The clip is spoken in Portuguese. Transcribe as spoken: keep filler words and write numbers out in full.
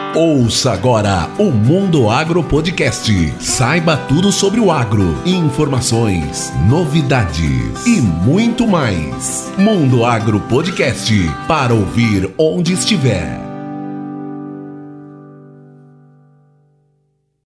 Ouça agora o Mundo Agro Podcast. Saiba tudo sobre o agro, informações, novidades e muito mais. Mundo Agro Podcast, para ouvir onde estiver.